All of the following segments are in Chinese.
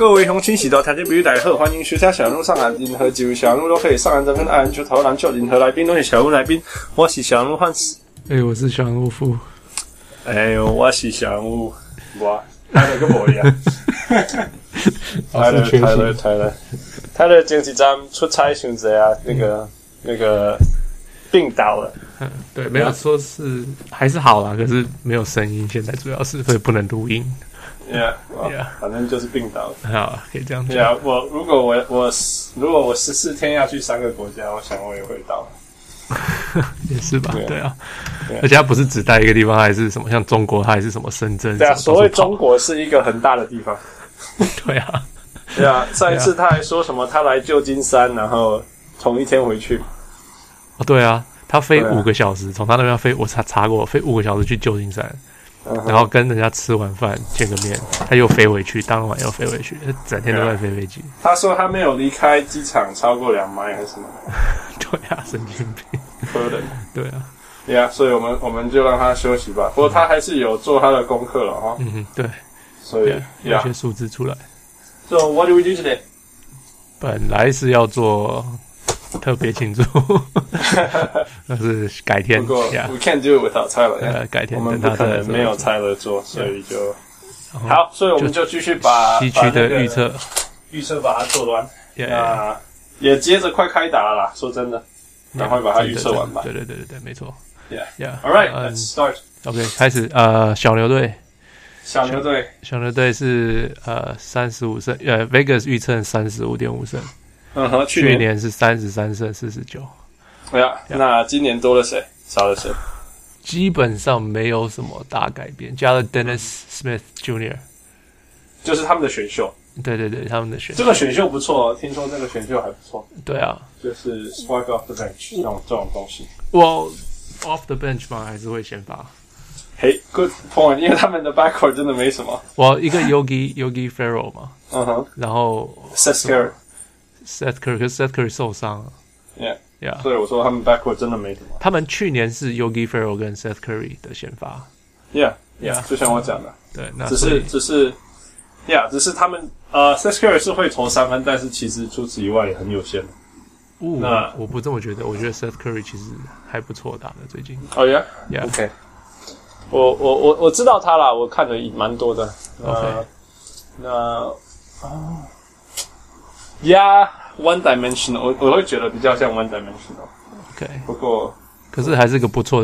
各位鄉親時代，聽眾朋友大家好，歡迎收聽小鹿上籃，任何幾位小鹿都可以上籃得分，愛籃球、投籃球，任何來賓都是小鹿來賓。我是小鹿漢斯， 我是小鹿夫， 我是小鹿，我泰勒跟我一樣，泰勒前幾站出差傷濟啊，那個病倒了。 對，沒有說是還是好啦，可是沒有聲音，現在主要是所以不能錄音。 Yeah， 反正就是病倒了。 好，可以這樣講。 Yeah， 如果我14天要去3個國家，我想我也會到。 也是吧？對啊，而且它不是只待一個地方，還是什麼像中國，它還是什麼深圳。 對啊，所謂中國是一個很大的地方。 對啊， 对啊，上一次他還說什麼他來舊金山，然後同一天回去。 哦，對啊，他飛5個小時，從他那邊飛，我查過，飛5個小時去舊金山。然後跟人家吃完飯見個面，他又飛回去，當晚又飛回去，整天都在飛飛機。 他說他沒有離開機場超過2邁還是什麼？ 對啊，神經病， 可能。對啊， 對啊，所以我們就讓他休息吧。不過他還是有做他的功課了哈。 對。所以有些數字出來。 So what do we do today？ 本來是要做特別慶祝，但是改天。 不過 we can't do it without Tyler。 改天我們不可能沒有 Tyler 做，所以就好，所以我們就繼續把西區的預測把它做完。那也接着快開打了啦，說真的，趕快把它預測完吧。 對，沒錯。 All right, let's start. OK， 開始。小牛隊是35勝，Vegas 預測35.5勝。去年是33勝49。 對啊，那今年多了誰？少了誰？ 基本上沒有什麼大改變，加了 Dennis Smith Jr.， 就是他們的選秀。 對，他們的選秀。 這個選秀不錯，聽說這個選秀還不錯。 對啊， 就是 spark off the bench 這種東西。 off the bench 嘛，還是會先發。 Good point， 因為他們的 backcourt 真的沒什麼。 一個 Yogi Ferrell 嘛，然後 Seth Curry， 可是 Seth Curry 受傷了。 Yeah， 所以我說他們 backcourt 真的沒什麼。 他們去年是 Yogi Ferrell 跟 Seth Curry 的先發。 Yeah， 就像我講的。 對，那只是他們Seth Curry 是會投3分，但是其實除此以外也很有限。 那我不這麼覺得，我覺得 Seth Curry 其實還不錯打的最近。 OK。我知道他啦，我看了蠻多的。One dimensional， 我會覺得比較像 one dimensional。OK， 不過可是還是個不錯的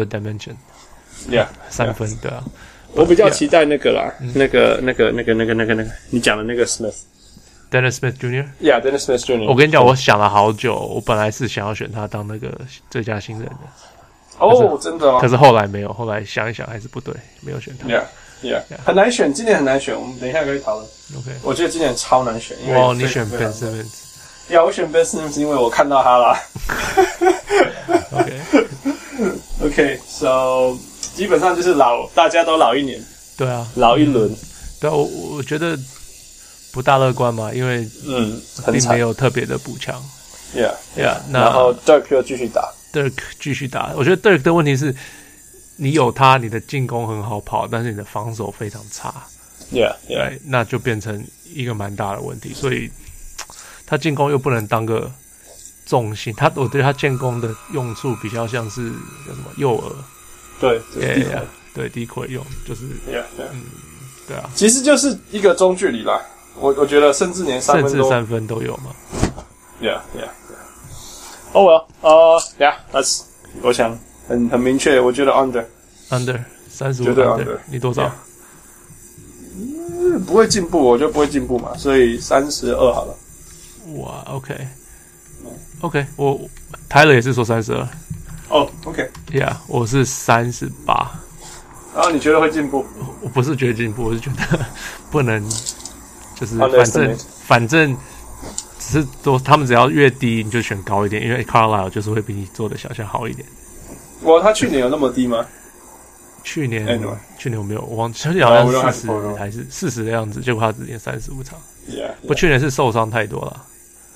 dimension。3分，對啊。 我比較期待那個啦，那個，你講的那個 Smith。Dennis Smith Jr.。Dennis Smith Jr.。 我跟你講，我想了好久，我本來是想要選他當那個最佳新人的。 真的哦。 可是後来沒有，後來想一想還是不對，沒有選他。 很難選，今年很難選，我們等一下可以討論。 OK， 我覺得今年超難選，因為你選 Ben Simmons。 我選 Ben Simmons， 因為我看到他啦。OK， so 基本上就是大家都老1年。對啊，老1輪。 對啊，我覺得不大樂觀嘛，因為並沒有特別的補強。 然後 Dirk 又繼續打。 我覺得 Dirk 的問題是，你有他，你的進攻很好跑，但是你的防守非常差。 對， 那就变成一個蠻大的問題。所以他進攻又不能當個重心，我對他進攻的用處比較像是叫什麼誘餌。對，低軌用就是。對啊， 其實就是一個中距離啦。我覺得甚至連3 分都有嘛。 that's 我想很明確，我覺得 under 35， 絕對 under。 你多少？ 不會進步，我覺得不會進步嘛，所以32好了。 哇 ，OK， 我Tyler也是說32。 OK， 我是38。 然後你覺得會進步？ 我不是覺得進步，我是覺得不能，就是反正。只是说他們只要越低，你就選高一點，因為 Carlisle 就是會比你做的小項好一點。 他去年有那麼低嗎？ 去年我沒有，我忘記，好像40還是40的樣子，結果他只練35場。不過去年是受傷太多了。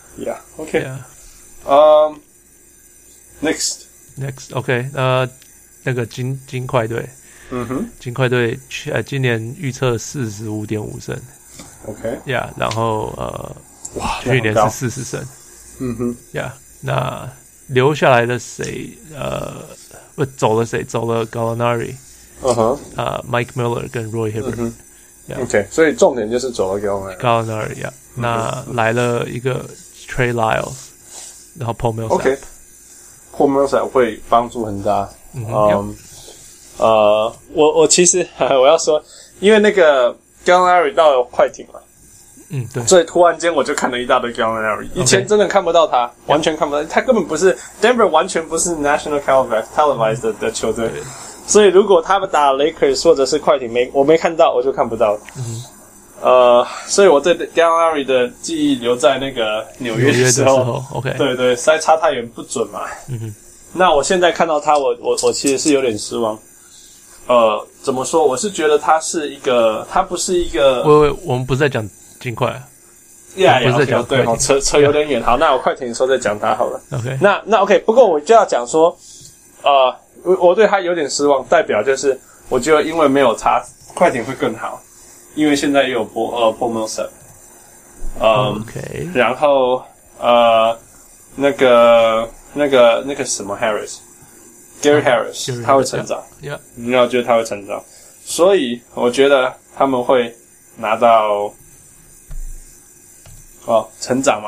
Next， 那個金塊隊，金塊隊今年預測45.5勝。 ，OK，然後哇， 去年是40胜，那留下來的誰？走了誰？走了 Gallinari， Mike Miller 跟 Roy Hibbert，OK， 所以重点就是走了 Gallinari，那来了一個 Trey Lyles， 然後 Paul Millsap，Paul Millsap 會幫助很大。我其實我要說，因為那個 Gallinari 到了快艇了， 對， 所以突然間我就看了一大堆 Gallinari， 以前真的看不到他，完全看不到，他根本不是 Denver， 完全不是 National Televised 的球隊，所以如果他們打 Lakers 或者是快艇我沒看到，我就看不到。所以我对 Gallinari 的記憶留在那個紐約的時候 ，OK， 對，實在差太遠不準嘛。那我現在看到他，我其實是有點失望。怎麼說？我是覺得他不是一個。 我們不是在講金塊啊。 不是在講對，扯有點遠。好，那我快艇的時候再講他好了。 OK， 那 OK， 不過我就要講說，我對他有點失望，代表就是我覺得因為沒有他，快艇會更好，因為現在也有Paul Millsap。 OK， 然後那個什麼 Gary Harris， 他會成長，你要覺得他會成長，所以我覺得他們會拿到成長嘛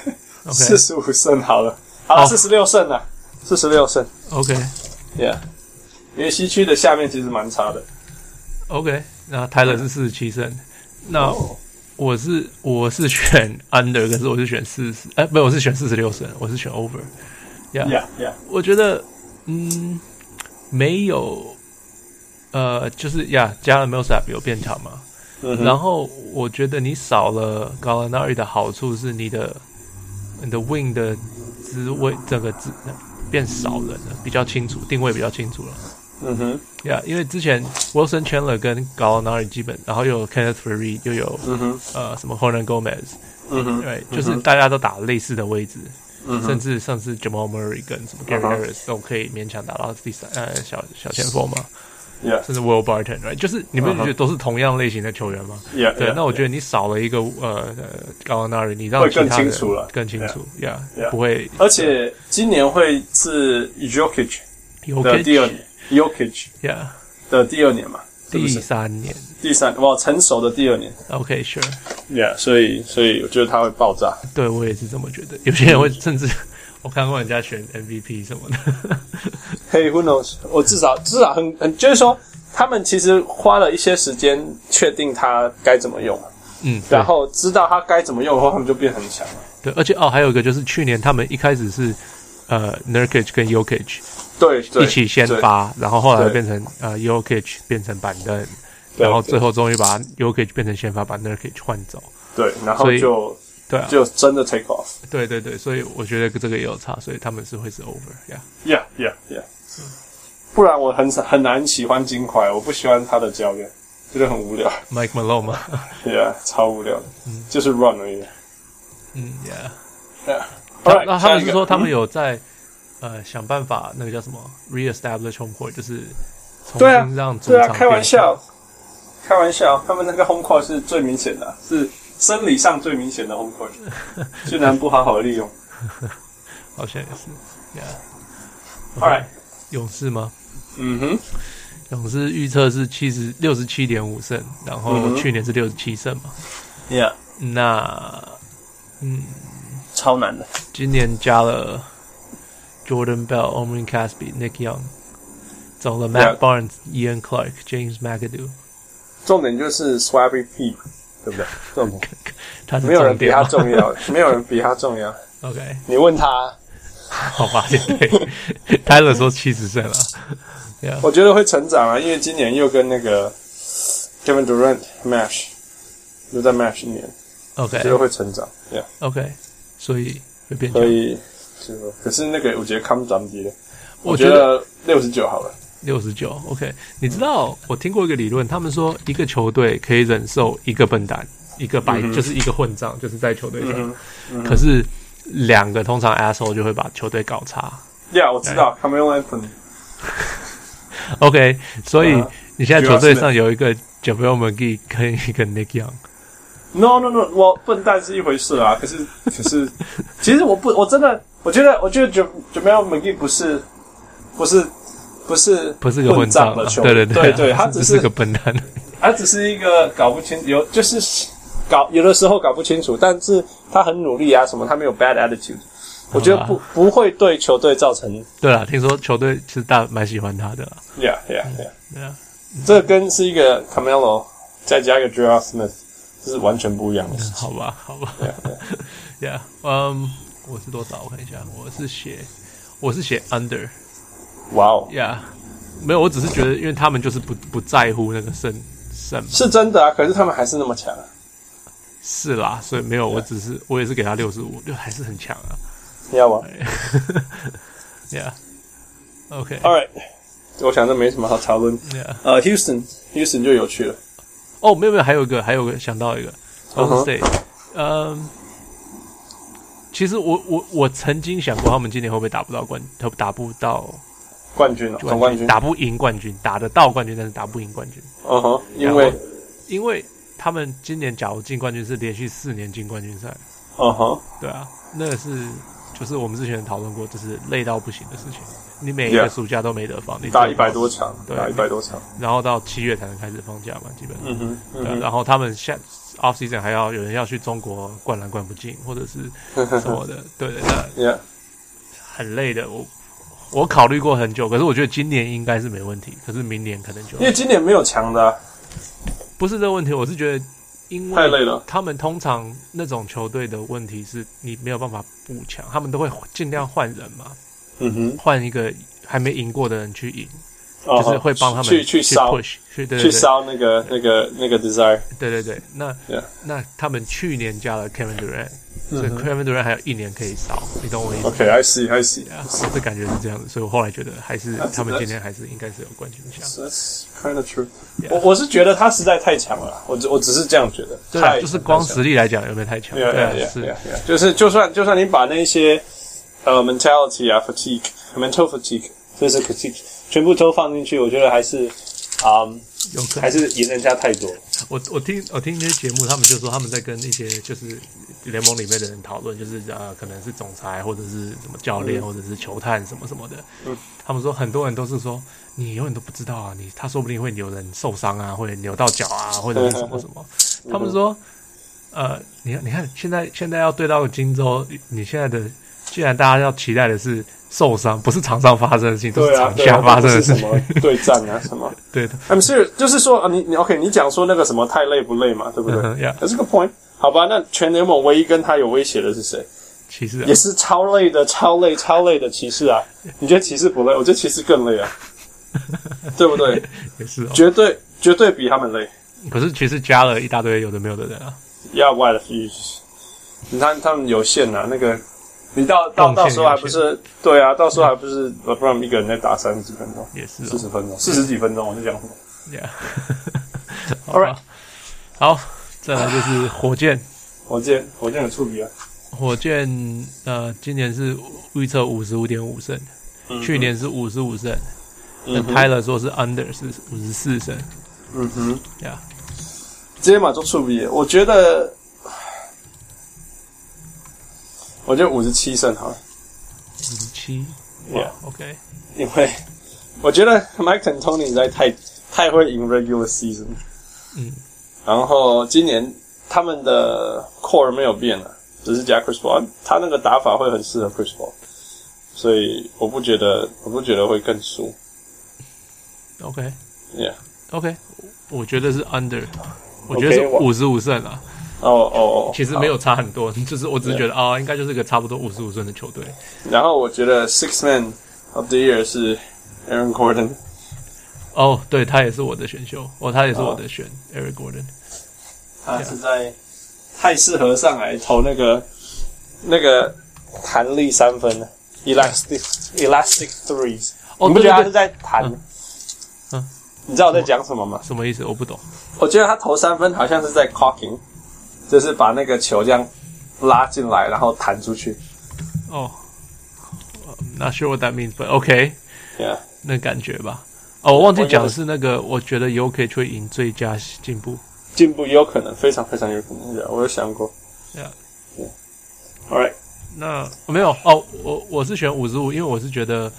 ，45勝好了，46勝啊，46勝 ，OK， 因為西區的下面其實蠻差的 ，OK， 那Tyler是47勝，那我是選 under， 可是我是選40，不，我是選46勝，我是選 over。Yeah， 我覺得，沒有，就是加了 Millsap 有變強嘛，然後我覺得你少了 Gallinari 的好處是你的 wing 的滋味，整個變少了，比較清楚，定位比較清楚了。因為之前 Wilson Chandler 跟 Gallinari 基本，然後又有 Kenneth Faried， 又有什麼 Hernan Gomez， 對，就是大家都打類似的位置。甚至上次 Jamal Murray 跟什麼 Gary Harris 都可以勉強打到第三小前鋒嘛，甚至 Will Barton， right？ 就是你們覺得都是同樣類型的球員嗎？对，那我覺得你少了一個Gallinari， 你讓其他人更清楚，不會。 而且今年會是 Jokic 的第二年 ，Jokic 的第二年嘛， 第三年， 成熟的第二年。 OK， sure。 所以我覺得他會爆炸。 對，我也是這麼覺得。有些人會甚至我看過人家選 MVP 什麼的。 Hey, who knows？ 我至少很就是說，他們其實花了一些時間確定他該怎麼用，然後知道他該怎麼用的話，他們就變很強了。 對，而且還有一個就是去年他們一開始是Nurkic 跟 Jokic 對一起先發，然後後來變成Jokic 變成板凳。然後最後終於把 Jokic 變成先發，把 Nurkic 換走。对， 然後就真的 take off。 对，所以我覺得這個也有差，所以他們會是 over。Yeah。 不然我很難喜歡金塊，我不喜歡他的教練，覺得很無聊。 Mike Malone 嗎？ 超無聊的，就是 run 而已。 那他們是說他們有在想辦法，那個叫什麼 reestablish home court， 就是重新讓主場開玩笑，他們那個 home court 是最明顯的，是生理上最明顯的 home court， 居然不好好利用。 好像也是 ，All right， 勇士嗎？勇士預測是67.5勝，然後去年是67勝嘛。那超難的。 今年加了 Jordan Bell、Omri Caspi、Nick Young， 走了 Matt Barnes、Ian Clark、James McAdoo。重點就是 Swabby P， 對不對？重點， 他是沒有人比他重要，沒有人比他重要。 OK， 你問他， 好吧，對 ，Tyler 說70勝了。 我覺得會成長啊，因為今年又跟那個 Kevin Durant match， 又在 match 一年 ，OK， 覺得會成長 ，OK， 所以會變強。 所以，可是那個我覺得看不長低的，我覺得69好了。 69 ，OK。你知道我聽過一個理論，他們說一個球隊可以忍受一個笨蛋，一個就是一個混賬，就是在球隊上。可是兩個通常 asshole 就會把球隊搞差。 我知道 Carmelo Anthony。OK， 所以你現在球隊上有一個 JaVale McGee 跟一個 Nick Young。 No， 我笨蛋是一回事啊，可是，其實我真的，我覺得 Jamal McGee 不是個混賬的球員，對，他只是個笨蛋， 他只是一個搞不清，有的時候搞不清楚，但是他很努力啊，什麼他沒有 bad attitude， 我覺得不會對球隊造成。 對啦，聽說球隊其實蠻喜歡他的啦。 Yeah， 這個跟是一個 Carmelo 再加一個 J.R. Smith， 這是完全不一樣的事情。 好吧。Yeah， 我是多少？我看一下，我是寫 under。 哇哦 ，Yeah， 沒有，我只是覺得，因為他們就是不在乎那個勝， 是真的啊，可是他們還是那麼強啊。 是啦，所以沒有，我也是給他65，就還是很強啊。 要嗎 ？Yeah，OK，All right， 我想這沒什麼好討論。Houston 就有趣了。 哦，沒有，還有一個想到一個 Golden State，其實我曾經想過，他們今年會不會打不到冠軍， 总冠軍打不贏冠軍，打得到冠軍，但是打不贏冠軍。因為他們今年假如進冠軍是連續4年進冠軍賽。對啊，那個就是我們之前討論過，就是累到不行的事情。你每一個暑假都沒得放，你打100多場，打100多场， 然後到7月才能開始放假嘛，基本上。对，然後他們off season 還要有人要去中國灌籃灌不進，或者是什麼的，對，那很累的。我考慮過很久，可是我覺得今年應該是沒問題，可是明年可能就因為今年沒有強的啊。 不是這個問題，我是覺得因為太累了。 他們通常那種球隊的問題是你沒有辦法補強，他們都會盡量換人嘛，換一個還沒贏過的人去贏。就是會幫他們去燒 push 去燒那個 desire。对， 那他們去年加了 Kevin Durant，所以 Kevin Durant 還有1年可以燒，你懂我意思 ？OK，I see。 我的感覺是這樣子，所以我後來覺得還是他們今年還是應該是有冠軍相。 That's kind of true。我是覺得他實在太強了，我只是這樣覺得。 對，就是光實力來講有沒有太強？ 對，是，就是就算你把那些mentality 啊 fatigue、mental fatigue、physical fatigue 全部都放進去，我覺得還是還是贏人家太多。 我聽那些節目，他們就說他們在跟一些就是聯盟裡面的人討論，就是可能是總裁或者是什麼教練或者是球探什麼什麼的。他們說很多人都是說你永遠都不知道啊，他說不定會有人受傷啊，會扭到腳啊，或者是什麼什麼。他們說你看現在要對到金州，你現在的既然大家要期待的是受傷，不是場上發生的事情，都是場下發生的事情，什麼對戰啊什麼。對的 ，I'm serious， 就是說你 OK， 你講說那個什麼太累不累嘛，對不對？That's a good point。好吧，那全聯盟唯一跟他有威脅的是誰？ 騎士啊， 也是超累的騎士啊。你覺得騎士不累？我覺得騎士更累啊，對不對？ 也是哦， 絕對比他們累。 可是骑士加了一大堆有的沒有的人啊。 Yeah, what if you？ 你看他們有限啊，那個。你到時候還不是對啊？到时候還不是不然一個人在打30幾分鐘，也是40分鐘，40幾分鐘，我在講什麼 ？Yeah， All right， 好，再來就是火箭有觸筆啊。火箭今年是預測55.5勝，去年是55勝，那Tyler說是 under 是54勝。Yeah， 直接嘛做觸筆，我覺得57勝好了。 57， 哇 ，OK。 因為我覺得 Mike D'Antoni 實在太會贏 regular season。然後今年他們的 core 沒有變了，只是加 Chris Paul， 他那個打法會很適合 Chris Paul， 所以我不覺得會更輸。 OK， 我覺得是 under， 我覺得是55勝啊。其實沒有差很多，就是我只是覺得應該就是個差不多55勝的球隊。 然後我覺得 Sixth Man of the Year 是 Aaron Gordon。 對，他也是我的選秀，他也是我的選 Aaron Gordon。 他實在太適合上來投那個彈力3分了 ，elastic threes。你不覺得他是在彈？你知道我在講什麼嗎？ 什麼意思？我不懂。 我覺得他投3分好像是在 cocking。就是把那個球這樣拉進來，然後彈出去。 Not sure what that means, but OK. Yeah， 那感覺吧。我忘記講的是那個，我覺得Jokic會贏最佳進步。 進步也有可能，非常非常有可能。我有想過。All right， 那没有哦，我是選55，因为我是覺得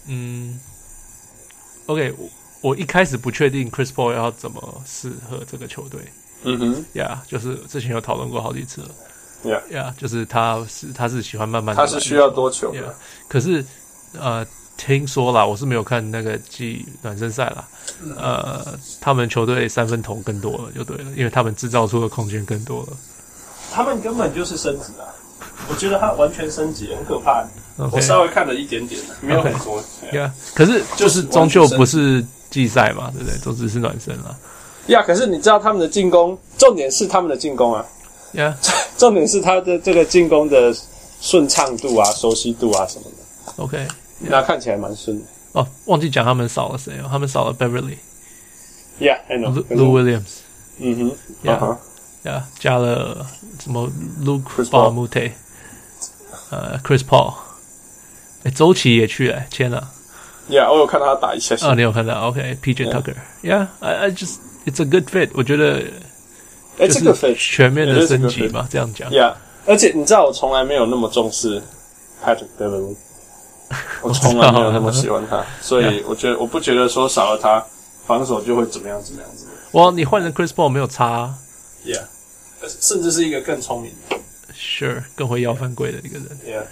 ，OK， 我一開始不確定 Chris Paul 要怎麼適合這個球隊。就是之前有討論過好幾次了。就是他是喜歡慢慢的， 他是需要多球的。 可是聽說啦，我是沒有看那個季暖身賽啦。他們球隊三分投更多了，就對了，因為他們製造出的空間更多了。 他們根本就是升級啊！我覺得他完全升級，很可怕。我稍微看了一點點，沒有很多。 可是就是終究不是季賽嘛，對不對？都只是暖身啦。 可是你知道他們的進攻，重點是他們的進攻啊。重點是他的這個進攻的順暢度啊、熟悉度啊什麼的。 OK， 那看起來蠻順的。 哦，忘記講他們少了誰哦？他們少了 Beverly。I know. Lou Williams。加了什麼 Luke Balmute， Chris Paul， 周琦也去簽了。 我有看到他打一下。 你有看到 ？OK，PJ Tucker。I just it's a good fit， 我覺得這個 fit 全面的升級嘛，這樣講。 而且你知道我從來沒有那麼重視 Patrick Beverly， 我從來沒有那麼喜歡他，所以我不覺得說少了他防守就會怎麼樣。 你換成 Chris Paul 沒有差。 甚至是一個更聰明的 ，Sure， 更會要犯規的一個人。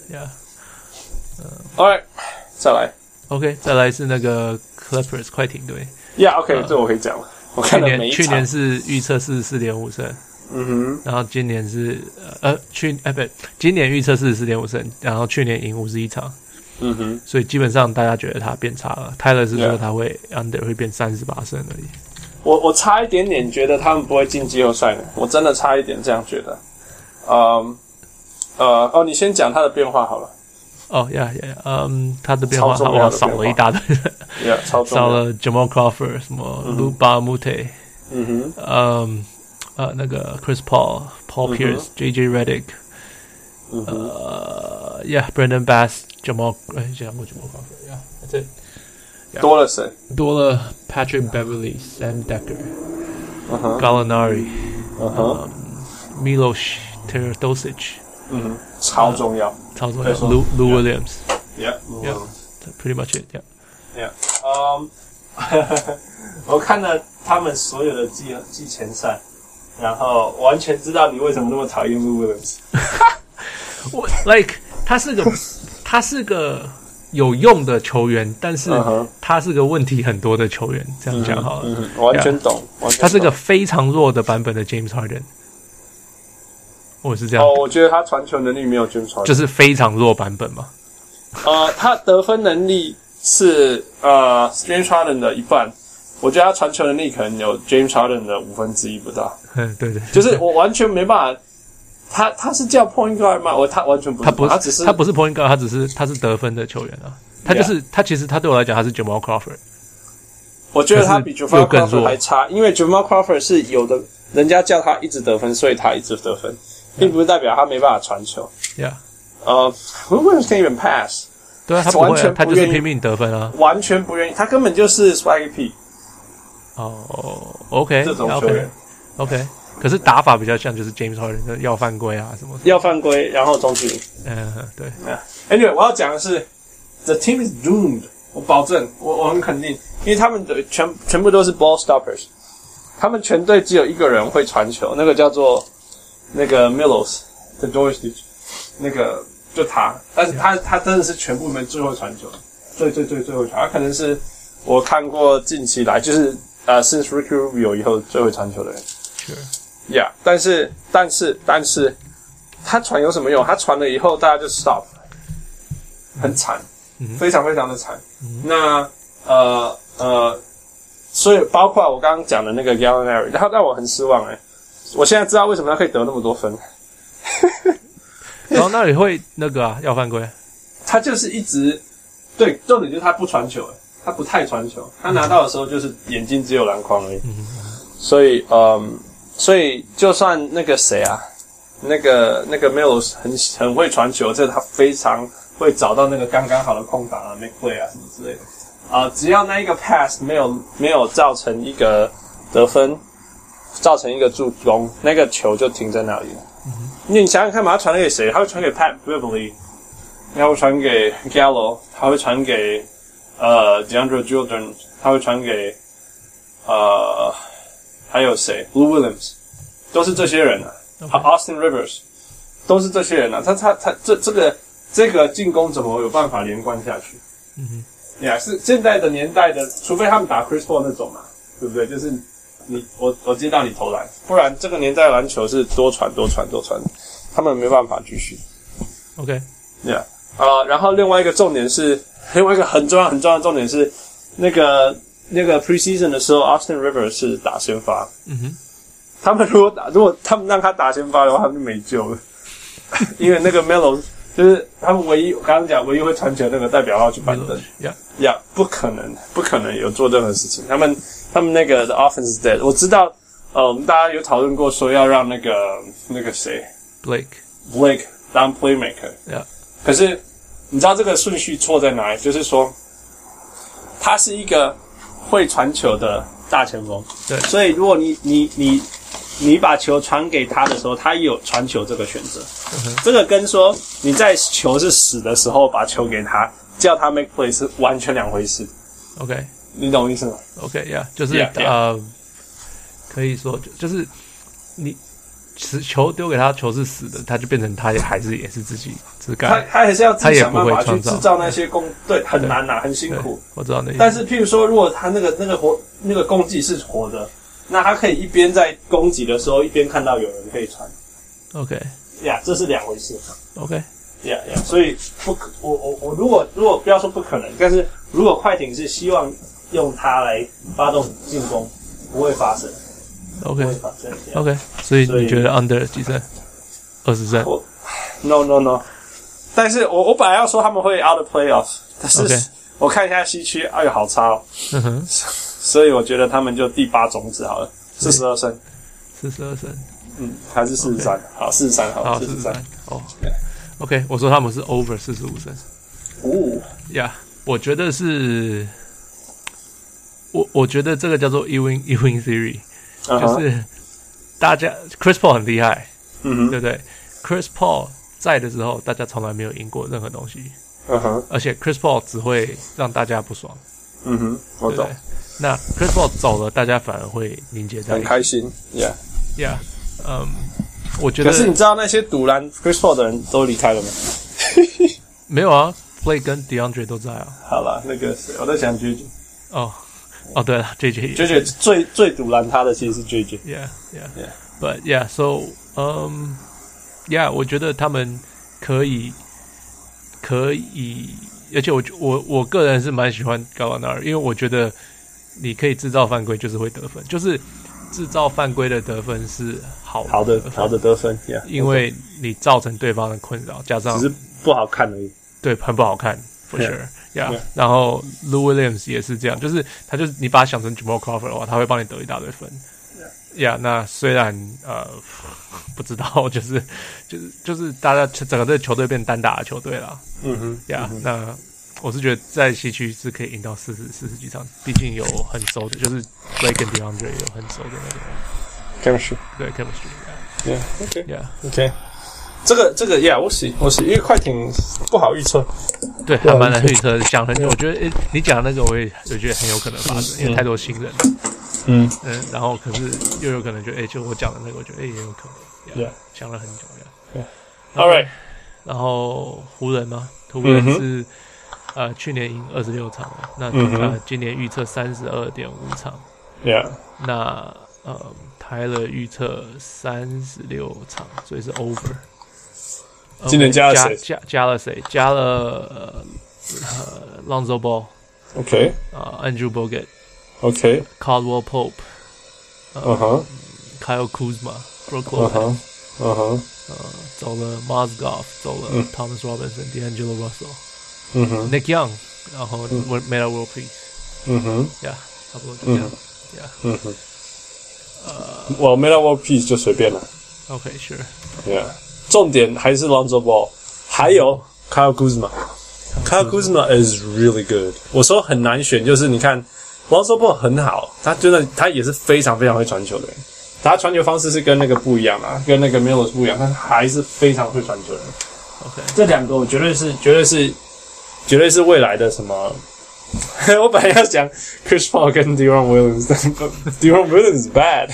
All right， 再來 ，OK， 再來是那個 Clippers 快艇隊。 OK， 這我可以講了。我看了每一場。 去年是預測44.5勝，然後今年是今年預測44.5勝，然後去年贏51場。所以基本上大家覺得他變差了。Tyler 是說他會 under 會變38勝而已。 我差一點點覺得他們不會進季後賽呢，我真的差一點這樣覺得。你先講他的變化好了。他的變化少了一大堆人，少了 Jamal Crawford， 什麼 Luke Balmute， 那個 Chris Paul、Paul Pierce、JJ Redick，Brandon Bass、Jamal， 講過 Jamal Crawford，that's it。 多了誰？ 多了 Patrick Beverly、Sam Decker、Gallinari、Milos Teodosic， 超重要 ，Lou Williams，pretty much it， 我看了他們所有的季前賽，然後完全知道你為什麼那麼討厭 Lou Williams。 他是個有用的球員，但是他是個問題很多的球員，這樣講好了。 完全懂。 他是個非常弱的版本的 James Harden。我是這樣。 我覺得他傳球能力沒有 James Harden， 就是非常弱版本嘛。 他得分能力是James Harden 的一半，我覺得他傳球能力可能有 James Harden 的1/5不到。 對， 就是我完全沒辦法。他是叫 point guard 嗎？他完全不是， 他不是 point guard， 他是得分的球員啊。他其實他對我來講他是 Jamal Crawford。 我覺得他比 Jamal Crawford 還差，因為 Jamal Crawford 是有的，人家叫他一直得分，所以他一直得分，並不是代表他沒辦法傳球。Williams can't even pass。 對啊，他不會，他就是拼命得分啊， 完全不願意，他根本就是 swaggy P。 OK， 這種球員 OK。可是打法比較像，就是 James Harden 的要犯規啊什麼的， 要犯規，然後中距離。 對。 Anyway， 我要講的是 ，the team is doomed。我保證，我很肯定，因為他們的全部都是 ball stoppers。他們全隊只有一個人會傳球，那個叫做那個 Milos Teodosic， 那個就他，但是他真的是全部裡面最會傳球，最會傳。他可能是我看過近期來就是since Ricky Rubio 以後最會傳球的人。但是他傳有什麼用？他傳了以後，大家就 stop， 很慘，非常非常的慘。那所以包括我剛剛講的那個 Gallinari， 他讓我很失望我現在知道為什麼他可以得那麼多分。 然後那裡會那個要犯規？ 他就是一直對，重點就是他不傳球，他不太傳球，他拿到的時候就是眼睛只有籃筐而已。所以就算那個誰啊，那個 Milos 很會傳球，這他非常會找到那個剛剛好的空檔啊 ，make play 啊什麼之類的。只要那一個 pass 沒有造成一個得分， 造成一個助攻，那個球就停在那裡了。你想想看嘛，他傳給誰？他會傳給 Pat Beverly， 他會傳給 Gallo， 他會傳給DeAndre Jordan， 他會傳給還有誰 ？Lou Williams， 都是這些人啊。Austin Rivers， 都是這些人啊。他這個進攻怎麼有辦法連貫下去？是現在的年代的，除非他們打 Chris Paul 那種嘛，對不對？就是我接到你投籃，不然這個年代的籃球是多傳，他們沒辦法繼續。 OK， 然後另外一個重點是，另外一個很重要的重點是，那個 preseason 的時候 ，Austin Rivers 是打先發。他們如果他們讓他打先發的話，他们就沒救了，因為那個 Melo 就是他們唯一剛剛講唯一會傳球那個代表要去板凳，不可能有做任何事情。他們那個 the offense is dead。我知道，我們大家有討論過說要讓那個誰 Blake 當 playmaker， 可是你知道這個順序錯在哪裡？就是說，他是一個會傳球的大前鋒，對，所以如果你把球傳給他的時候，他也有傳球這個選擇。這個跟說你在球是死的時候把球給他，叫他 make play 是完全兩回事。OK， 你懂我意思嗎 ？OK， 就是可以說就是你球丟給他，球是死的，他就变成他也是自己自幹， 他還是要自己想辦法去制造那些对，很難啊，很辛苦。我知道那。但是譬如說，如果他那個攻击是活的。那他可以一邊在攻擊的時候，一邊看到有人可以傳。OK， 這是兩回事。OK， 所以我如果不要說不可能，但是如果快艇是希望用它來發動進攻，不會發生。OK， 不會發生。 OK， 所以你覺得 under 幾勝？20勝 ？No。但是我本來要說他們會 out of playoffs， 但是我看一下西區，哎呦，好差哦。所以我覺得他們就第8種子好了，42勝，42勝，還是43，好，43好，43， 哦 ，OK， 我說他們是 over 45勝，我覺得是，我覺得這個叫做 Ewing theory， 就是大家 Chris Paul 很厲害，對不對 ？Chris Paul 在的時候，大家從來沒有贏過任何東西，而且 Chris Paul 只會讓大家不爽， 我懂。 那 Chris Paul 走了，大家反而會凝結在一起， 很開心 ，Yeah， 我覺得。 可是你知道那些賭爛 Chris Paul 的人都離開了嗎？ 沒有啊 ，Blake 跟 DeAndre 都在啊。 好啦，那個誰，我在想 JJ。 哦，對了 ，JJ 最賭爛他的其實是 JJ。Yeah， But so yeah， 我覺得他們可以。而且我個人是蠻喜歡 Gallinari， 因為我覺得你可以制造犯規，就是會得分，就是制造犯規的得分是好的得分， 因為你造成對方的困擾，加上只是不好看而已， 對，很不好看 ，for sure， 然後 Lou Williams 也是這樣，就是你把他想成 Jamal Crawford 的話，他會幫你得一大堆分。那雖然不知道，就是大家整個這個球隊變單打的球隊啦。那我是覺得在西區是可以贏到40幾場，畢竟有很熟的，就是 Blake 跟 DeAndre 有很熟的那個 chemistry， 對 chemistry，OK， 這個 我是因為快艇不好預測， 對，還蠻難預測，想很久，我覺得你講的那個我覺得很有可能發生，因為太多新人了。然後可是又有可能就我講的那個，我覺得也有可能，想了很久 ，All right， 然後湖人是去年贏26場了，那今年預測32.5場，那Tyler預測36場，所以是 over。 今年加了誰？ 加了Lonzo Ball，OK， Andrew Bogut。OK，Caldwell Pope，Kyle Kuzma，Brook Lopez，走了 Mozgov， 走了 Thomas Robinson，D'Angelo Russell，Nick Young， 然後 Metta World Peace，差不多就這樣我 Metta World Peace 就隨便了 ，OK sure， 重點還是 Lonzo Ball， 還有 Kyle Kuzma，Kyle Kuzma is really good， 我說很難選，就是你看。Lonzo Ball 很好，他也是非常非常會傳球的人， 他傳球方式是跟那個不一樣啦，跟那個 Miller 不一樣，但還是非常會傳球的。 OK， 這兩個我絕對是未來的什麼？我本來要講 Chris Paul 跟 Deron Williams， 但 Deron Williams is bad，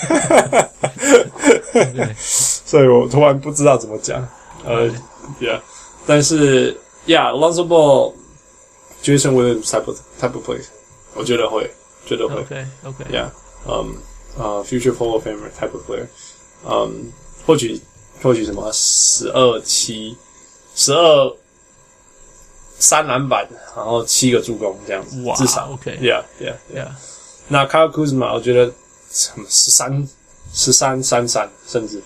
所以我突然不知道怎麼講。Yeah， 但是 Lonzo Ball、Jason Williams type of play， 我覺得會，絕對會。OK，Yeah，future Hall of Famer type of player， 或許什麼12-7、12。3籃板，然後7個助攻這樣子，至少 OK，Yeah。 那 Kyle Kuzma 我覺得13、33，甚至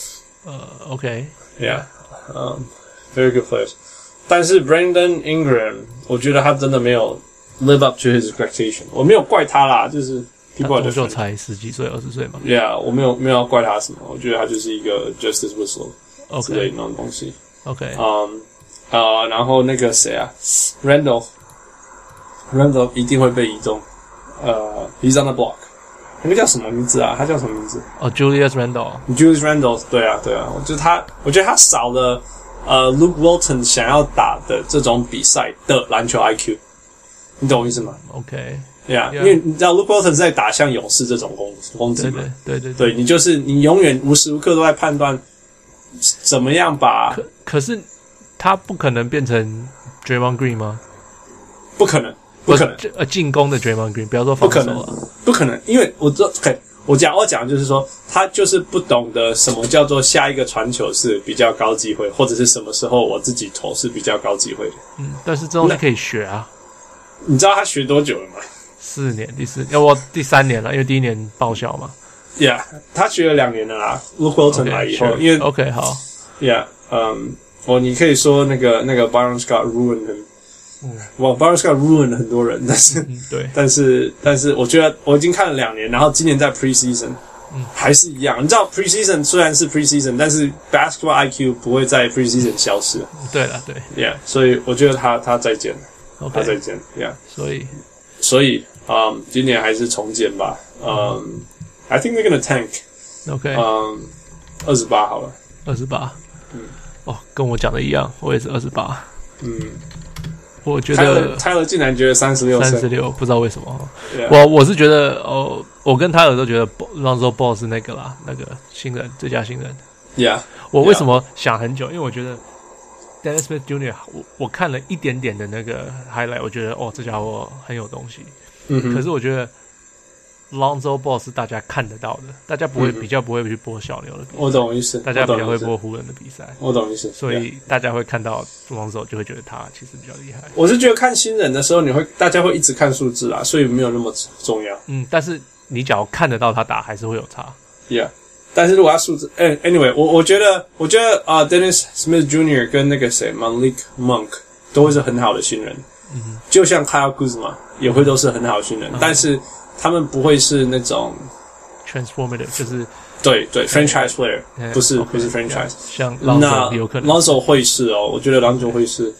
OK，Yeah，very good players。但是 Brandon Ingram 我覺得他真的沒有 live up to his expectation， 我沒有怪他啦，就是他多久才10幾歲、20歲嘛 ？Yeah， 我没有要怪他什麼，我覺得他就是一個 justice whistle 之類的那種東西。 OK， 然後那個誰啊 ，Randolph 一定會被移動。He's on the block。那個叫什麼名字啊？他叫什麼名字？ Julius Randle。 Julius Randle， 對啊。我覺得他少了Luke Walton 想要打的這種比賽的籃球 IQ， 你懂我意思嗎 ？OK。Yeah， 因為你知道 Luke Walton 在打像勇士這種攻擊嘛？對，你永遠無時無刻都在判斷怎麼樣把。 可是。他不可能變成 Draymond Green 嗎？ 不可能。 進攻的 Draymond Green， 不要說防守了。 不可能，因為我講的就是說，他就是不懂得什麼叫做下一個傳球是比較高機會，或者是什麼時候我自己投是比較高機會的。 但是這東西可以學啊。 你知道他學多久了嗎 ？4年，第3年了，因為第1年報銷嘛。 Yeah， 他學了2年了啦。Luke Walton 來以後，因為 OK 好。 Yeah，你可以說那個 Byron Scott ruined him，Byron Scott ruined 很多人， 對， 但是我覺得我已經看了2年，然後今年在 preseason，還是一樣。你知道 preseason 雖然是 preseason， 但是 basketball IQ 不會在 preseason 消失。 對了，對 ，Yeah， 所以我覺得他再見了，他再見 ，Yeah， 所以今年還是重建吧。I think they're gonna tank。OK， 28好了 ，28。跟我講的一樣，我也是28。我覺得 Tyler 竟然覺得36， 不知道為什麼。 Yeah. 我是覺得我跟 Tyler 都覺得 Lonzo Ball 是那個啦，那個新人，最佳新人。 Yeah， 我為什麼想很久？因為我覺得 Dennis Smith Jr. 我看了一點點的那個 highlight， 我覺得這家伙很有東西。可是我覺得 Lonzo Ball 是大家看得到的，大家比較不會去播小牛的比賽。 我懂意思。 大家比較會播湖人的比賽。 我懂意思。 所以大家會看到 Lonzo 就會覺得他其實比較厲害。 我是覺得看新人的時候，大家會一直看數字啦，所以沒有那麼重要。 但是你假如看得到他打，還是會有差。 Yeah， 但是如果他數字，anyway， 我覺得Dennis Smith Jr. 跟那個誰 Malik Monk 都會是很好的新人。就像 Kyle Kuzma 也會都是很好的新人，但是他們不會是那種 transformative， 就是對 franchise player， 不是 franchise。 像 Lonzo 有可能 Lonzo 會是我覺得 Lonzo 會是，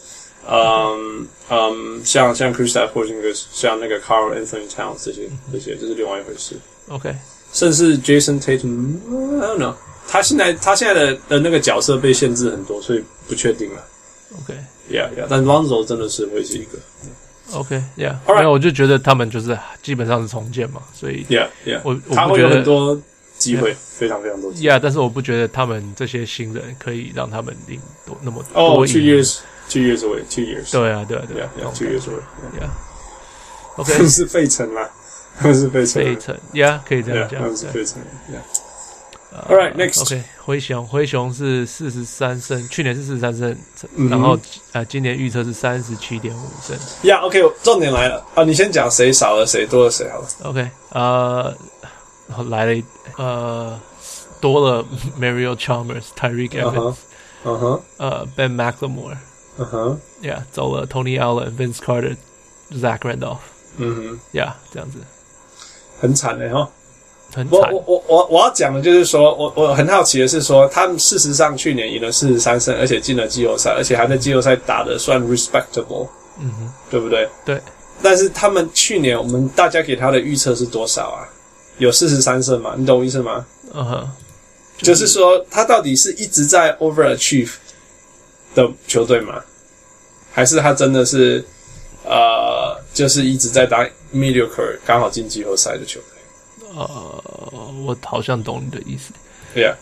像 Kristaps Porzingis， 像那個 Karl Anthony Towns 這些就是另外一回事。 OK， 甚至 Jason Tatum，I don't know， 他現在的那個角色被限制很多，所以不確定了。OK，Yeah， 但 Lonzo 真的是會是一個。 OK，Yeah， 沒有，我就覺得他們就是基本上是重建嘛，所以 Yeah， 他會有很多機會，非常非常多機會。 Yeah， 但是我不覺得他們這些新人可以讓他們贏那麼多。 2 years away， 2 years。 對啊 ，2 years away。Yeah，OK， 他們是費城啦， 費城 ，Yeah， 可以這樣講， 他們是費城 ，Yeah。All right, next. OK， 灰熊是43勝，去年是43勝，然後今年預測是37.5勝。 Yeah, OK， 重點來了你先講誰少了誰多了誰好了。 OK， 來了多了 Mario Chalmers、Tyreek Evans，Ben McLemore，Yeah， 走了 Tony Allen、Vince Carter、Zach Randolph，Yeah， 這樣子， 很慘哈。 很慘。 我要講的就是說，我很好奇的是說，他們事實上去年贏了43勝，而且進了季後賽，而且還在季後賽打得算 respectable，對不對？ 對。 但是他們去年我們大家給他的預測是多少啊有43勝嘛，你懂我意思嗎？ 就是說他到底是一直在 overachieve 的球隊嗎？還是他真的是就是一直在打 mediocre 剛好進季後賽的球隊？ 我好像懂你的意思。 對呀，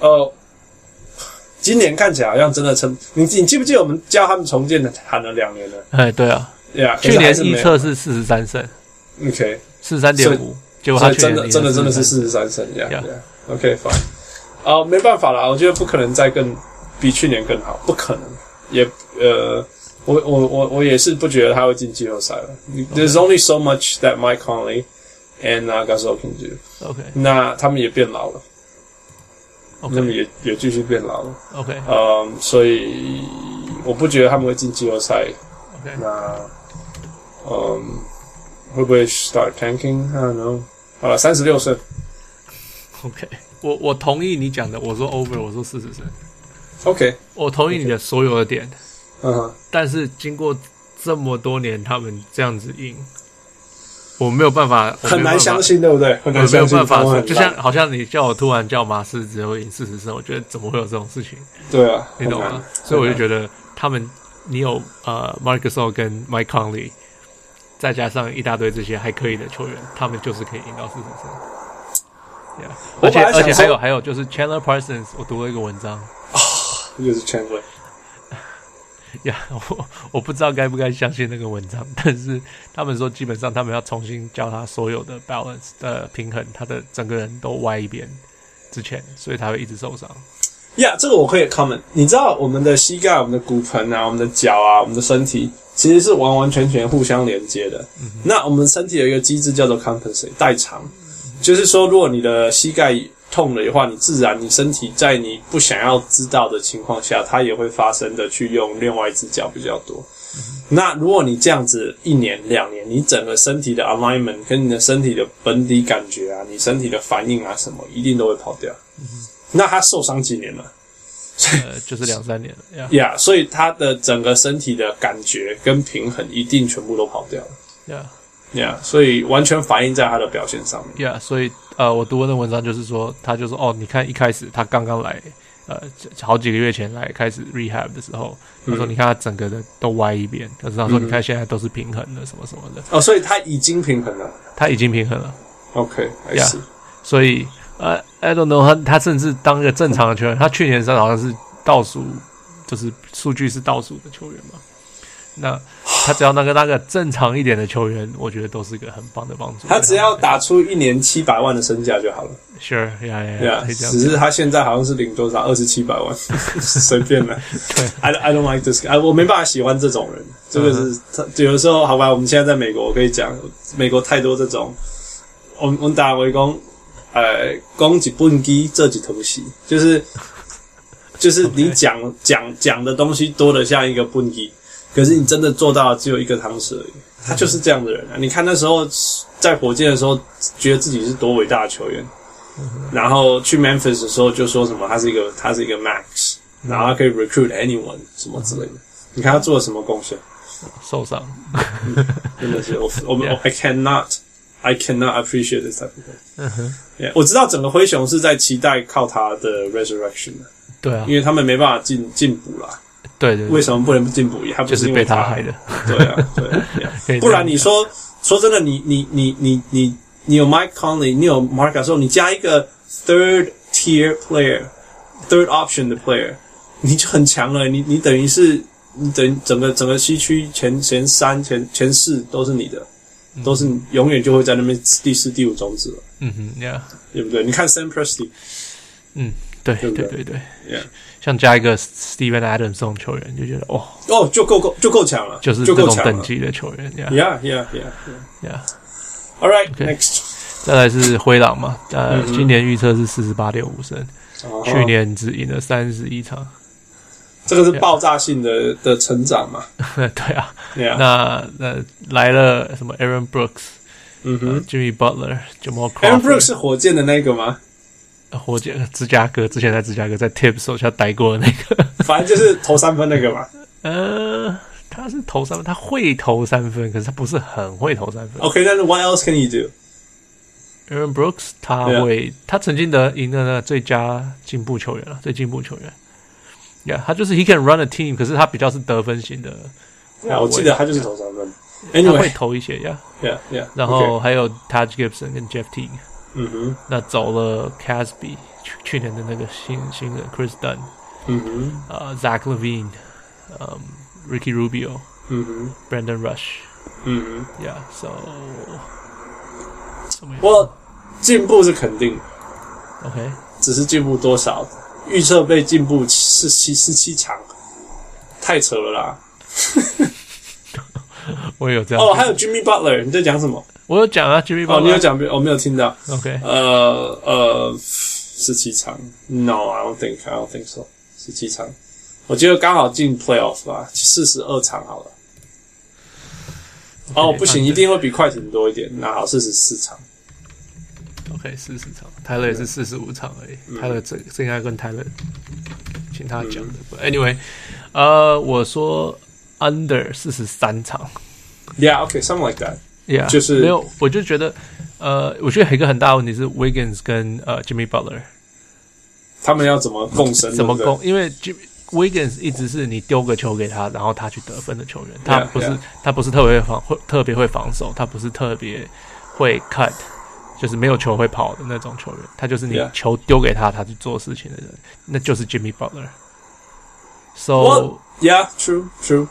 今年看起来好像真的你記不記得我們教他們重建的喊了2年了？ 对啊， 對啊， 去年預測是43勝 ，OK， 43.5，結果他真的是43勝，OK fine， 沒辦法啦，我覺得不可能再比去年更好，不可能，也我也是不覺得他會進季後賽了。There's only so much that Mike Conley and Gasol can do。OK， 那他們也變老了。那麼也繼續變老了。 OK， 所以我不覺得他們會進季後賽。 OK， 那會不會 start tanking？ I don't know。好了，36勝。 OK， 我同意你講的，我說 over， 我說40勝。 OK， 我同意你的所有的點。 Okay. 但是經過這麼多年，他們這樣子贏。我沒有辦法， 很難相信，對不對？很難相信， 我沒有辦法說，就像好像你叫我突然叫馬刺只會贏40勝，我覺得怎麼會有這種事情？ 對啊， 你懂嗎？所以我就覺得他們，你有Marc Gasol 跟 Mike Conley， 再加上一大堆這些還可以的球員，他們就是可以贏到40勝。Yeah， 而且還有就是 Chandler Parsons， 我讀了一個文章， 又是 Chandler。 我不知道該不該相信那個文章，但是他們說基本上他們要重新教他所有的 balance 的平衡，他的整個人都歪一邊之前，所以他會一直受傷。 这個我可以 comment。你知道我們的膝蓋、我們的骨盆啊、我們的腳啊、我們的身體其實是完完全全互相連接的。那我們身體有一個機制叫做 compensate 代償，就是說如果你的膝蓋痛了的話，你自然你身體在你不想要知道的情況下，它也會發生的去用另外一隻腳比較多。那如果你這樣子1年2年，你整個身體的 alignment 跟你的身體的本體感覺啊，你身體的反應啊什麼，一定都會跑掉。那他受傷幾年了？ 就是2-3年了。 Yeah， 所以他的整個身體的感覺跟平衡一定全部都跑掉了。Yeah， 所以完全反映在他的表現上面。 Yeah， 所以我讀過的文章就是說，他就說你看一開始他剛剛來，好幾個月前來開始 rehab 的時候，他說你看他整個的都歪一邊，可是他說你看現在都是平衡的，什麼什麼的。 所以他已經平衡了。他已經平衡了。OK，I see。 所以I don't know， 他甚至當一個正常的球員，他去年好像是倒數，就是數據是倒數的球員嘛。那他只要那個正常一點的球員，我覺得都是一個很棒的幫助。 他只要打出1年700萬的身價就好了。 Sure， yeah， 只是他現在好像是領多少2700萬，隨便了。對 ，I don't like this guy， 我沒辦法喜歡這種人。這個是有的時候，好吧，我們現在在美國，我可以講，美國太多這種，我們打圍攻，攻幾本機這幾頭戲，就是你講的東西多得像一個本機。可是你真的做到只有一個湯匙而已，他就是這樣的人啊！你看那時候在火箭的時候，覺得自己是多偉大的球員，然後去 Memphis 的時候就說什麼他是一個 Max， 然後他可以 recruit anyone 什麼之類的。你看他做了什麼貢獻？ 受傷， 真的是I cannot appreciate this type of thing。我知道整個灰熊是在期待靠他的 resurrection 的， 對啊， 因為他們沒辦法進補啦。 對， 為什麼不能進補？他不是因為就是被他害的。 對啊，不然你說真的，你有 Mike Conley， 你有 Marc Gasol， 你加一個 third tier player，third option 的 player， 你就很強了。你等於是整個西區前3前4都是你的，都是永遠就會在那邊第4第5種子了。 Yeah， 對不對？你看 Sam Presti， 對 ，Yeah， 像加一個 Steven Adams 這種球員，就覺得就夠強了， 就是這種等級的球員。 Yeah。All right， next， 再來是灰狼嘛，今年預測是48.5勝，去年只贏了31場， 這個是爆炸性的成長嘛？ 對啊，那來了什麼 Aaron Brooks，Jimmy Butler，Jamal Crawford。 Aaron Brooks 是火箭的那個嗎？ 火箭芝加哥之前在芝加哥在 Tibbs 手下待過的那個， 反正就是投3分那個嘛。 他是投3分，他會投3分，可是他不是很會投3分。 Okay， 但是 what else can he do？ Aaron Brooks 他曾經贏的那個最佳進步球员了，最进步球員。他就是 he can run a team， 可是他比較是得分型的。 我記得他就是投三分。 他會投一些 ，yeah。 然後還有 Taj Gibson 跟 Jeff Teague。那走了 Casby， 去年的那個新人 Chris Dunn。Zach Levine，Ricky Rubio，Brandon Rush。So， 我進步是肯定的 ，OK， 只是進步多少？預測被進步17場，太扯了啦！ 我也有這樣。 還有 Jimmy Butler， 你在講什麼？ 我有講啊 ，Jimmy Butler。 你有講，我沒有聽到。 OK， 17場 ，No，I don't think so。17場，我覺得剛好進 Playoff 吧，42場好了。不行，一定會比快艇多一點。那好，44場。 OK， 40場，泰勒也是45場而已。泰勒這應該跟泰勒請他講的。Anyway， 我說 under 43場。 Yeah，something like that。就是没有，我就覺得，我覺得有一個很大的問題是 Wiggins 跟Jimmy Butler， 他們要怎麼共生？ 怎麼共？因為 Wiggins 一直是你丟個球給他，然後他去得分的球員。他不是特別會防守，他不是特別會 cut， 就是沒有球會跑的那種球員。他就是你球丟給他，他去做事情的人，那就是 Jimmy Butler。So true.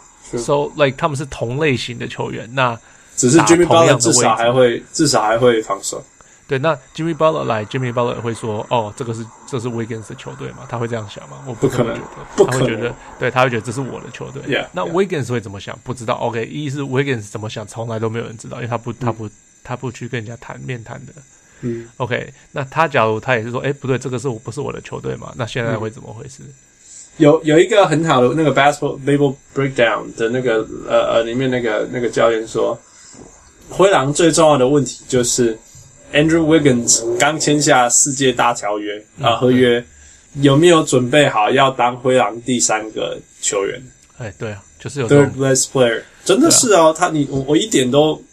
So like 他們是同類型的球員，那只是 Jimmy Butler 至少還會防守。 对，那 Jimmy Butler 會說，這是 Wiggins 的球隊嘛？他會這樣想嗎？我不可能覺得，他會覺得，對，他會覺得這是我的球隊。那 Wiggins 會怎麼想？不知道。OK， 一是 Wiggins 怎麼想，從來都沒有人知道，因為他不去跟人家面談的。OK， 那他假如他也是說，不對，這個不是我的球隊嘛？那現在會怎麼回事？ 有一個很好的那個 basketball breakdown 的那個裡面那個教練說，灰狼最重要的問題就是 Andrew Wiggins 剛簽下世界大條約合約，有沒有準備好要當灰狼第三個球員？ 對啊，就是有 third best player， 真的是哦，我一點都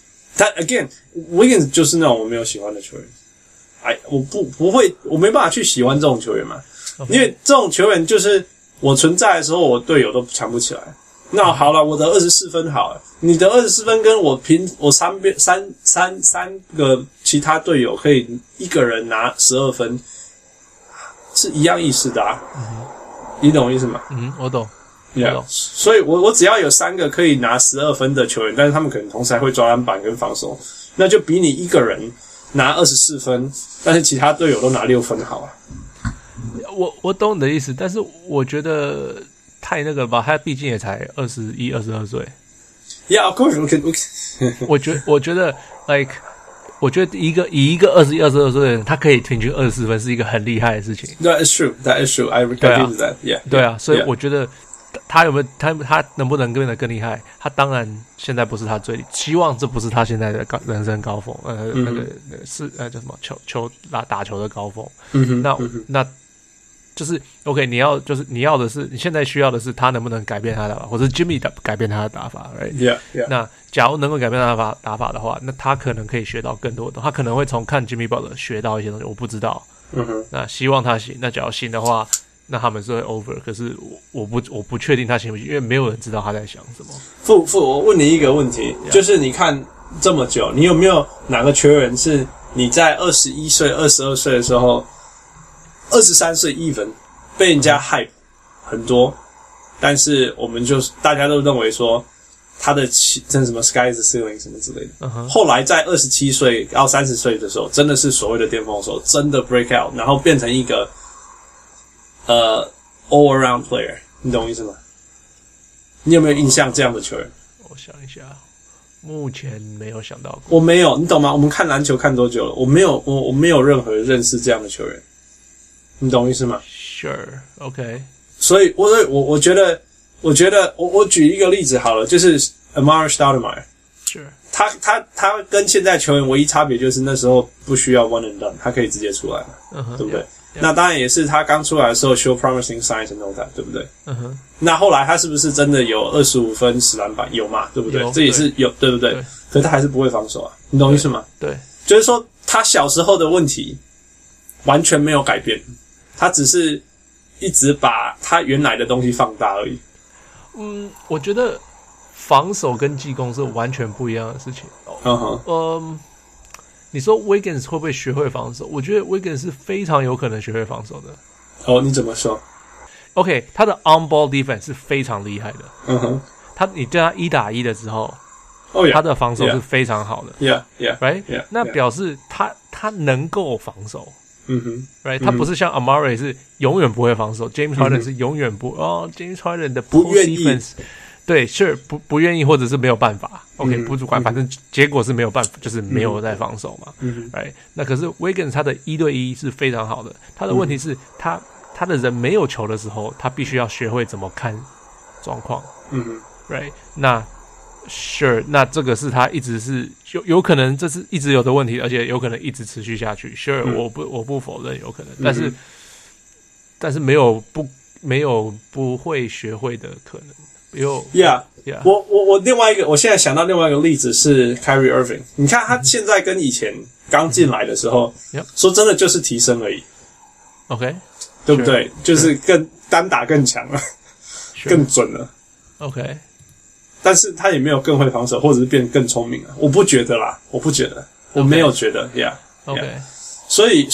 again Wiggins 就是那種我沒有喜歡的球員，我不會，我沒辦法去喜歡這種球員嘛。因為這種球員就是我存在的時候，我隊友都搶不起来。那好了，我得24分好了，你的24分跟我三個其他隊友可以一個人拿12分，是一樣意思的啊。你懂我意思嗎？ 我懂。 所以我只要有3個可以拿12分的球員，但是他們可能同時還會抓籃板跟防守，那就比你一個人拿24分，但是其他隊友都拿6分好啊。 我懂你的意思，但是我覺得太那個了吧，他畢竟也才21、22歲。 Yeah, of course. 我覺得 like 我覺得以一個21、22歲的人，他可以平均24分是一個很厲害的事情。 That is true. That is true. I agree with that. Yeah. 對啊，所以我覺得他有沒有他能不能变得更厲害？他當然現在不是他最希望，這不是他現在的人生高峰。那個是叫什麼球打球的高峰。那就是 OK， 你要的是你現在需要的是他能不能改變他的打法，或者 Jimmy 改變他的打法 ，right？ Yeah. 那假如能夠改變他的打法的話，那他可能可以學到更多的，他可能會從看 Jimmy Butler 學到一些東西，我不知道。那希望他行，那假如行的話，那他們是會 over。可是我不確定他行不行，因為沒有人知道他在想什麼。 我問你一個問題，就是你看這麼久，你有沒有哪個球員是你在21歲、22歲的時候？23歲 even 被人家 hype 很多，但是我們大家都認為說他的真什麼 sky is the ceiling 什麼之類的。後來在27歲到30歲的時候，真的是所謂的巔峰的時候，真的 break out， 然後變成一個all around player， 你懂我意思嗎？你有沒有印象這樣的球員？ 我想一下，目前沒有想到過。 我沒有，你懂嗎？我們看籃球看多久了？我沒有任何認識這樣的球員。你懂我意思嗎 ？Sure, OK。 所以我覺得，我舉一個例子好了，就是 Amar'e Stoudemire。Sure。他跟現在球員唯一差別就是那時候不需要 one and done， 他可以直接出來了，對不對？ Yeah. 那當然也是他剛出來的時候 show promising signs and all that， 對不對？那後來他是不是真的有25分10籃板？有嘛，對不對？這也是有，對不對？可是他還是不會防守啊，你懂我意思嗎？ 對。 就是說他小時候的問題完全沒有改變，他只是一直把他原來的東西放大而已。 我覺得防守跟進攻是完全不一樣的事情。你說 Wiggins 會不會學會防守？我覺得 Wiggins 是非常有可能學會防守的。 哦，你怎麼說 ？OK， 他的 on ball defense 是非常厲害的。你对他1打1的时候，他的防守是非常好的。 Right？ 那表示他能夠防守。Right？ 他不是像 Amare 是永遠不會防守，James Harden 是永遠James Harden 的 post defense。对 ，sure 不願意或者是沒有辦法 ，OK 不主觀，反正結果是沒有辦法，就是沒有在防守嘛，right？ 那可是 Wiggins 他的1對1是非常好的，他的問題是他的人沒有球的時候，他必須要學會怎麼看狀況，right？ 那 sure 那這個是他一直是有可能這是一直有的問題，而且有可能一直持續下去 ，sure 我不否認有可能，但是没有不會學會的可能。 我另外一個，我現在想到另外一個例子是 Kyrie Irving。你看他現在跟以前剛進來的時候，說真的就是提升而已。 OK， 對不對？就是更單打更強了，更準了。 OK， 但是他也沒有更会防守，或者是变更聰明了。我不覺得啦，我沒有覺得。OK， 所以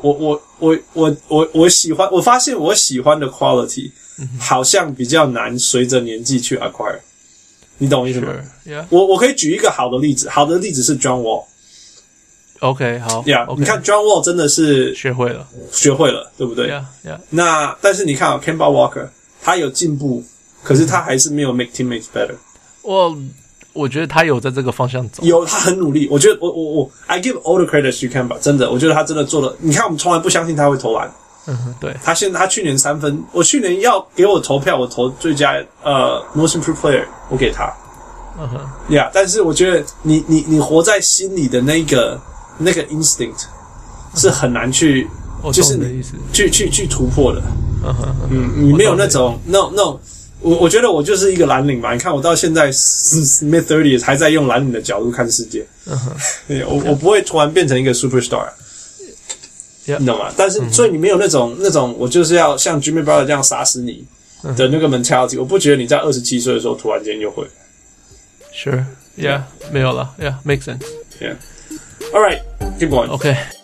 我喜歡，我發现我喜歡的 quality。好像比較難隨着年紀去 acquire， 你懂我意思嗎？ 我可以舉一個好的例子，是 John Wall。OK， 好 ，Yeah， 你看 John Wall 真的是學會了，對不对 ？Yeah。 那但是你看Kemba Walker， 他有進步，可是他還是沒有 make teammates better。 我覺得他有在這個方向走， 他很努力。我覺得我 I give all the credit to Kemba， 真的，我覺得他真的做了。你看，我們從來不相信他會投籃。 對， 他去年3分，我去年要給我投票，我投最佳most improved player， 我给他。但是我覺得你活在心裡的那個 instinct 是很難去，就是你去突破的。你沒有那種我覺得我就是一個藍領吧。你看我到現在 mid 30s 還在用藍領的角度看世界。我不會突然變成一個 superstar。你懂嗎？但是，所以你沒有那種，我就是要像 Jimmy Butler 這樣殺死你的那個 mentality。我不覺得你在27歲的時候突然間就會。 Sure, yeah， 沒有了 ，Yeah， makes sense. Yeah. All right, keep going. Okay.